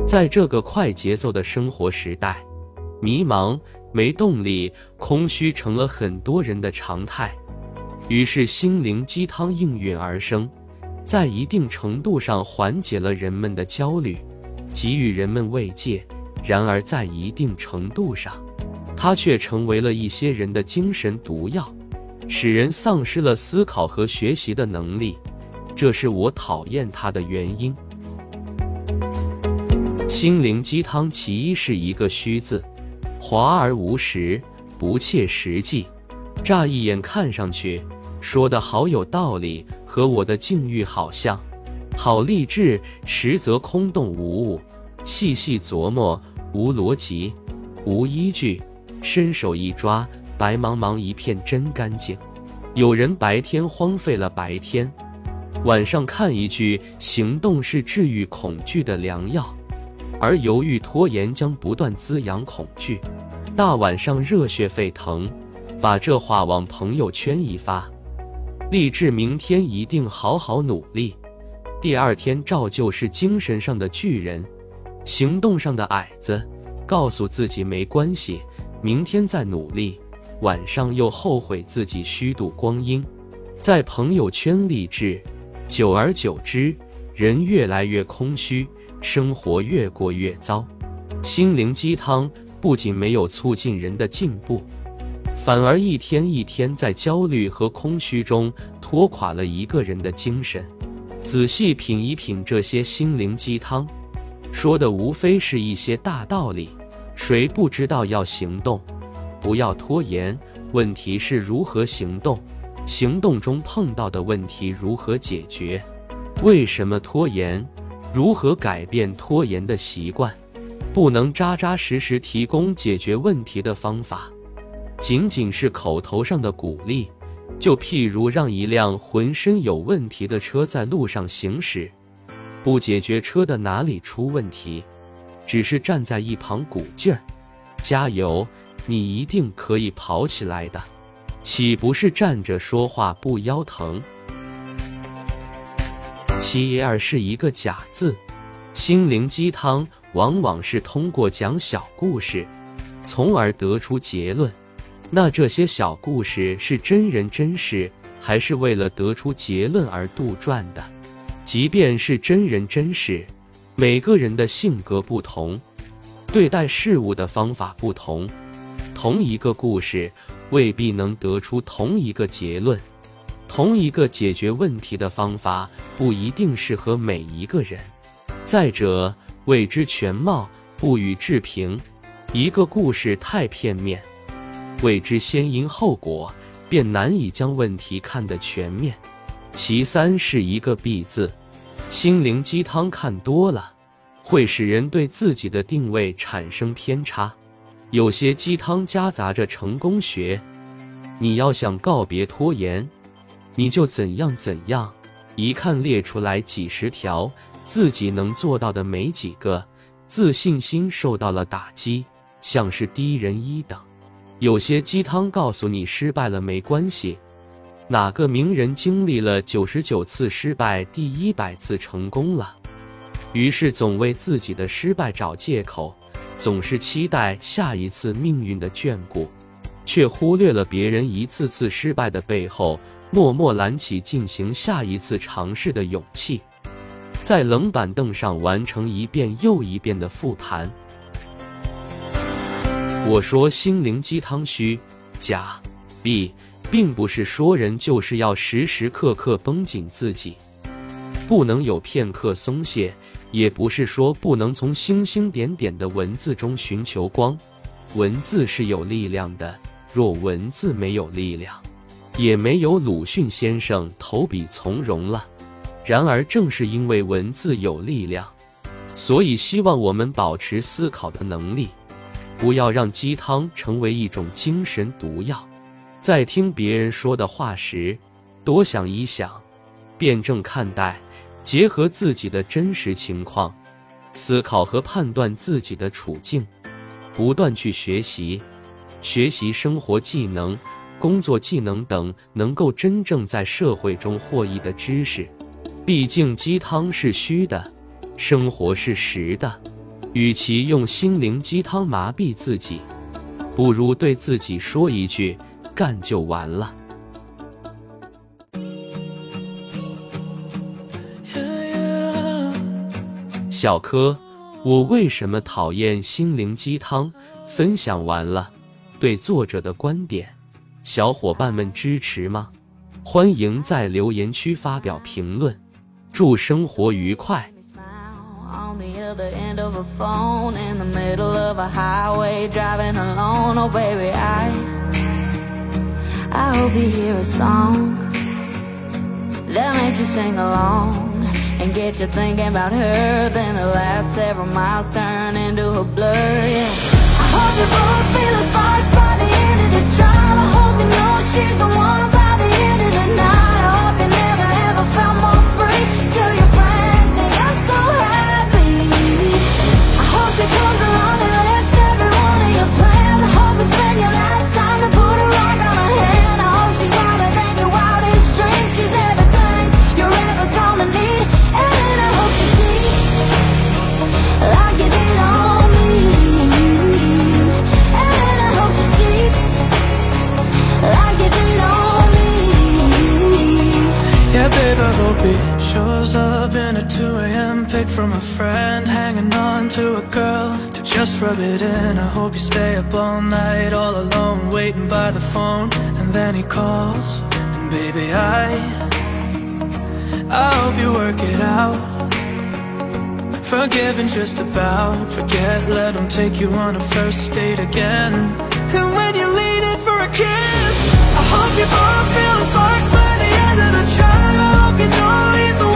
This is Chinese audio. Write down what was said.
在这个快节奏的生活时代，迷茫、没动力、空虚成了很多人的常态。于是心灵鸡汤应运而生，在一定程度上缓解了人们的焦虑，给予人们慰藉。然而在一定程度上，它却成为了一些人的精神毒药，使人丧失了思考和学习的能力。这是我讨厌它的原因。心灵鸡汤其一是一个虚字，华而无实，不切实际。乍一眼看上去说得好有道理，和我的境遇好像，好励志，实则空洞无物，细细琢磨，无逻辑，无依据，伸手一抓，白茫茫一片真干净。有人白天荒废了白天，晚上看一句行动是治愈恐惧的良药，而犹豫拖延将不断滋养恐惧。大晚上热血沸腾，把这话往朋友圈一发，励志明天一定好好努力。第二天照旧是精神上的巨人，行动上的矮子，告诉自己没关系，明天再努力。晚上又后悔自己虚度光阴，在朋友圈励志，久而久之，人越来越空虚，生活越过越糟。心灵鸡汤不仅没有促进人的进步，反而一天一天在焦虑和空虚中拖垮了一个人的精神。仔细品一品这些心灵鸡汤，说的无非是一些大道理，谁不知道要行动，不要拖延，问题是如何行动，行动中碰到的问题如何解决，为什么拖延，如何改变拖延的习惯。不能扎扎实实提供解决问题的方法，仅仅是口头上的鼓励。就譬如让一辆浑身有问题的车在路上行驶，不解决车的哪里出问题，只是站在一旁鼓劲儿，加油，你一定可以跑起来的，岂不是站着说话不腰疼？其二是一个假字。心灵鸡汤往往是通过讲小故事，从而得出结论。那这些小故事是真人真事，还是为了得出结论而杜撰的？即便是真人真事，每个人的性格不同，对待事物的方法不同，同一个故事未必能得出同一个结论，同一个解决问题的方法不一定适合每一个人。再者，未知全貌，不予置评，一个故事太片面，未知先因后果，便难以将问题看得全面。其三是一个必字。心灵鸡汤看多了，会使人对自己的定位产生偏差。有些鸡汤夹杂着成功学，你要想告别拖延，你就怎样怎样，一看列出来几十条，自己能做到的没几个，自信心受到了打击，像是低人一等。有些鸡汤告诉你失败了没关系，哪个名人经历了99次失败，第100次成功了？于是总为自己的失败找借口，总是期待下一次命运的眷顾，却忽略了别人一次次失败的背后，默默揽起进行下一次尝试的勇气，在冷板凳上完成一遍又一遍的复盘。我说心灵鸡汤虚假弊，并不是说人就是要时时刻刻绷紧自己，不能有片刻松懈，也不是说不能从星星点点的文字中寻求光。文字是有力量的，若文字没有力量，也没有鲁迅先生投笔从戎了。然而正是因为文字有力量，所以希望我们保持思考的能力，不要让鸡汤成为一种精神毒药。在听别人说的话时，多想一想，辩证看待，结合自己的真实情况，思考和判断自己的处境，不断去学习生活技能、工作技能等能够真正在社会中获益的知识。毕竟鸡汤是虚的，生活是实的。 与其用心灵鸡汤麻痹自己，不如对自己说一句干就完了。小柯，我为什么讨厌心灵鸡汤？分享完了，对作者的观点，小伙伴们支持吗？欢迎在留言区发表评论。祝生活愉快。 And get you thinking about her. Then the last several miles turn into a blur, yeah. I hope you both feel the sparks by the end of the drive. I hope you know she's the one by the end of the night. I hope you never ever felt more free. Tell your friends that you're so happy. I hope she comes along and wrecks every one of your plans. I hope you spend your last time to put a rock on her hand. I hope she's gonna think your wildest dreams. She's everything you're ever gonna need. Like you did on me, and I hope she cheats like you did on me. Yeah, babe, I hope he shows up in a 2 a.m. pic from a friend, hanging on to a girl to just rub it in. I hope you stay up all night, all alone, waiting by the phone, and then he calls, and baby, I hope you work it out. Forgive and just about forget, let him take you on a first date again. And when you lean in for a kiss, I hope you both feel the sparks by the end of the drive. I hope you know he's the